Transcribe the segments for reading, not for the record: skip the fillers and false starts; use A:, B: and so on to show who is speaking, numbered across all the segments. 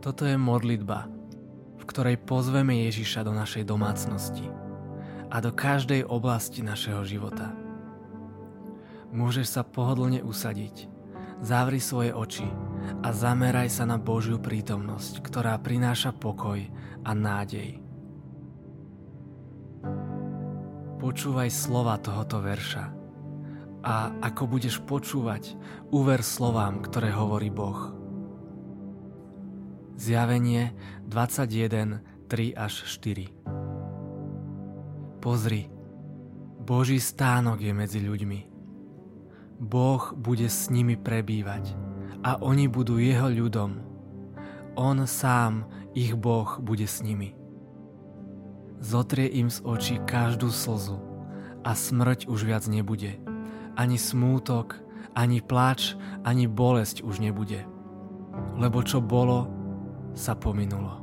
A: Toto je modlitba, v ktorej pozveme Ježiša do našej domácnosti a do každej oblasti našeho života. Môžeš sa pohodlne usadiť, zavri svoje oči a zameraj sa na Božiu prítomnosť, ktorá prináša pokoj a nádej. Počúvaj slova tohoto verša a ako budeš počúvať, uver slovám, ktoré hovorí Boh. Zjavenie 21, 3-4. Pozri, Boží stánok je medzi ľuďmi. Boh bude s nimi prebývať a oni budú jeho ľudom. On sám, ich Boh, bude s nimi. Zotrie im z očí každú slzu a smrť už viac nebude. Ani smútok, ani plač, ani bolesť už nebude. Lebo čo bolo, sa pominulo.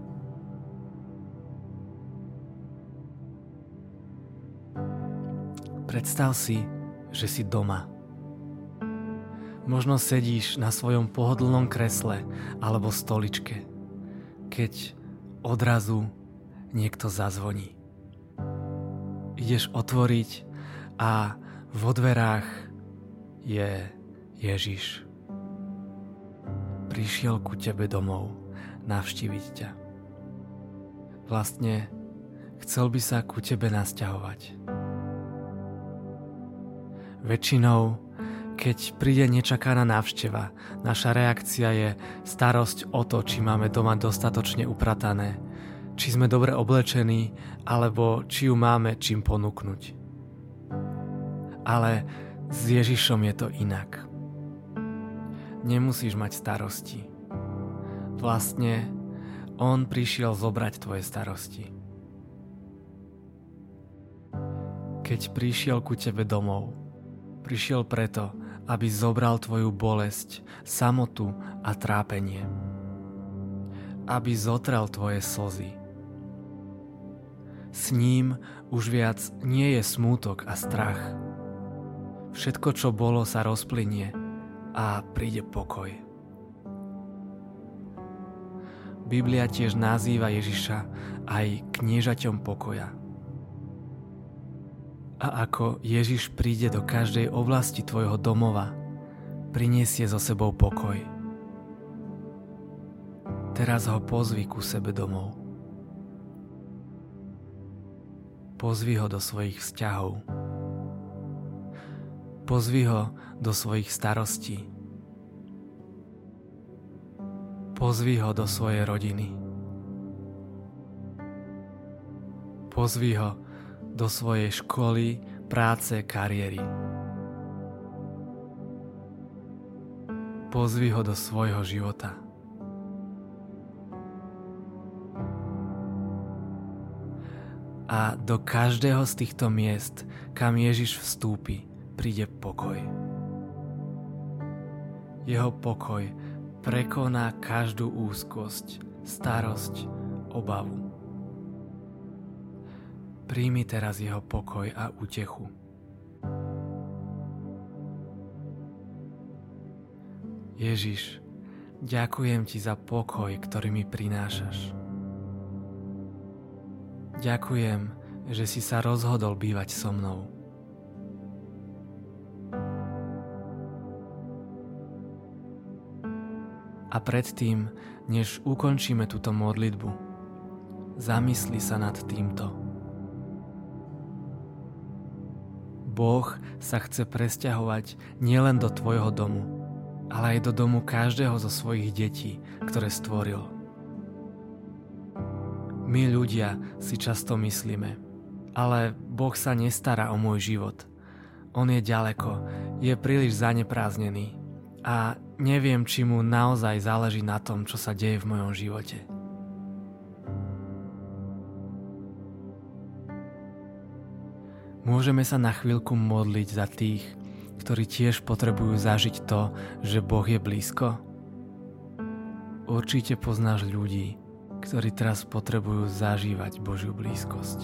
A: Predstav si, že si doma. Možno sedíš na svojom pohodlnom kresle alebo stoličke, keď odrazu niekto zazvoní. Ideš otvoriť a vo dverách je Ježiš. Prišiel ku tebe domov navštíviť ťa. Vlastne chcel by sa ku tebe nasťahovať. Väčšinou, keď príde nečakaná návšteva, naša reakcia je starosť o to, či máme doma dostatočne upratané, či sme dobre oblečení, alebo či ju máme čím ponúknuť. Ale s Ježišom je to inak. Nemusíš mať starosti. Vlastne, on prišiel zobrať tvoje starosti. Keď prišiel ku tebe domov, prišiel preto, aby zobral tvoju bolesť, samotu a trápenie. Aby zotrel tvoje slzy. S ním už viac nie je smútok a strach. Všetko, čo bolo, sa rozplynie a príde pokoj. Biblia tiež nazýva Ježiša aj kniežaťom pokoja. A ako Ježiš príde do každej oblasti tvojho domova, prinesie so sebou pokoj. Teraz ho pozvi ku sebe domov. Pozvi ho do svojich vzťahov. Pozvi ho do svojich starostí. Pozvi ho do svojej rodiny. Pozvi ho do svojej školy, práce, kariéry. Pozvi ho do svojho života. A do každého z týchto miest, kam Ježiš vstúpi, príde pokoj. Jeho pokoj prekoná každú úzkosť, starosť, obavu. Príjmi teraz jeho pokoj a útechu. Ježiš, ďakujem ti za pokoj, ktorý mi prinášaš. Ďakujem, že si sa rozhodol bývať so mnou. A predtým, než ukončíme túto modlitbu, zamysli sa nad týmto. Boh sa chce presťahovať nielen do tvojho domu, ale aj do domu každého zo svojich detí, ktoré stvoril. My ľudia si často myslíme, ale Boh sa nestará o môj život. On je ďaleko, je príliš zanepráznený a neviem, či mu naozaj záleží na tom, čo sa deje v mojom živote. Môžeme sa na chvíľku modliť za tých, ktorí tiež potrebujú zažiť to, že Boh je blízko? Určite poznáš ľudí, ktorí teraz potrebujú zažívať Božiu blízkosť.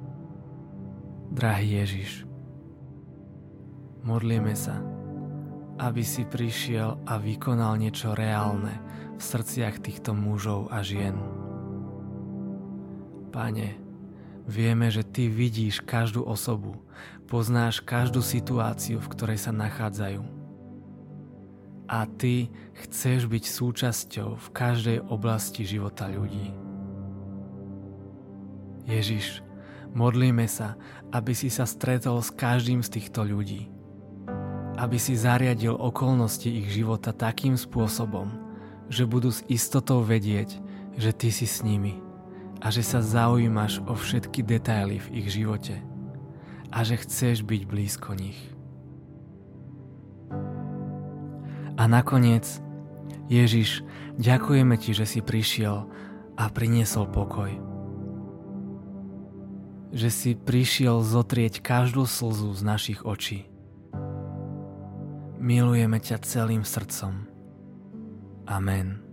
A: Drahý Ježiš, modlíme sa, aby si prišiel a vykonal niečo reálne v srdciach týchto mužov a žien. Pane, vieme, že Ty vidíš každú osobu, poznáš každú situáciu, v ktorej sa nachádzajú. A Ty chceš byť súčasťou v každej oblasti života ľudí. Ježiš, modlíme sa, aby si sa stretol s každým z týchto ľudí. Aby si zariadil okolnosti ich života takým spôsobom, že budú s istotou vedieť, že Ty si s nimi a že sa zaujímaš o všetky detaily v ich živote a že chceš byť blízko nich. A nakoniec, Ježiš, ďakujeme Ti, že si prišiel a priniesol pokoj. Že si prišiel zotrieť každú slzu z našich očí. Milujeme ťa celým srdcom. Amen.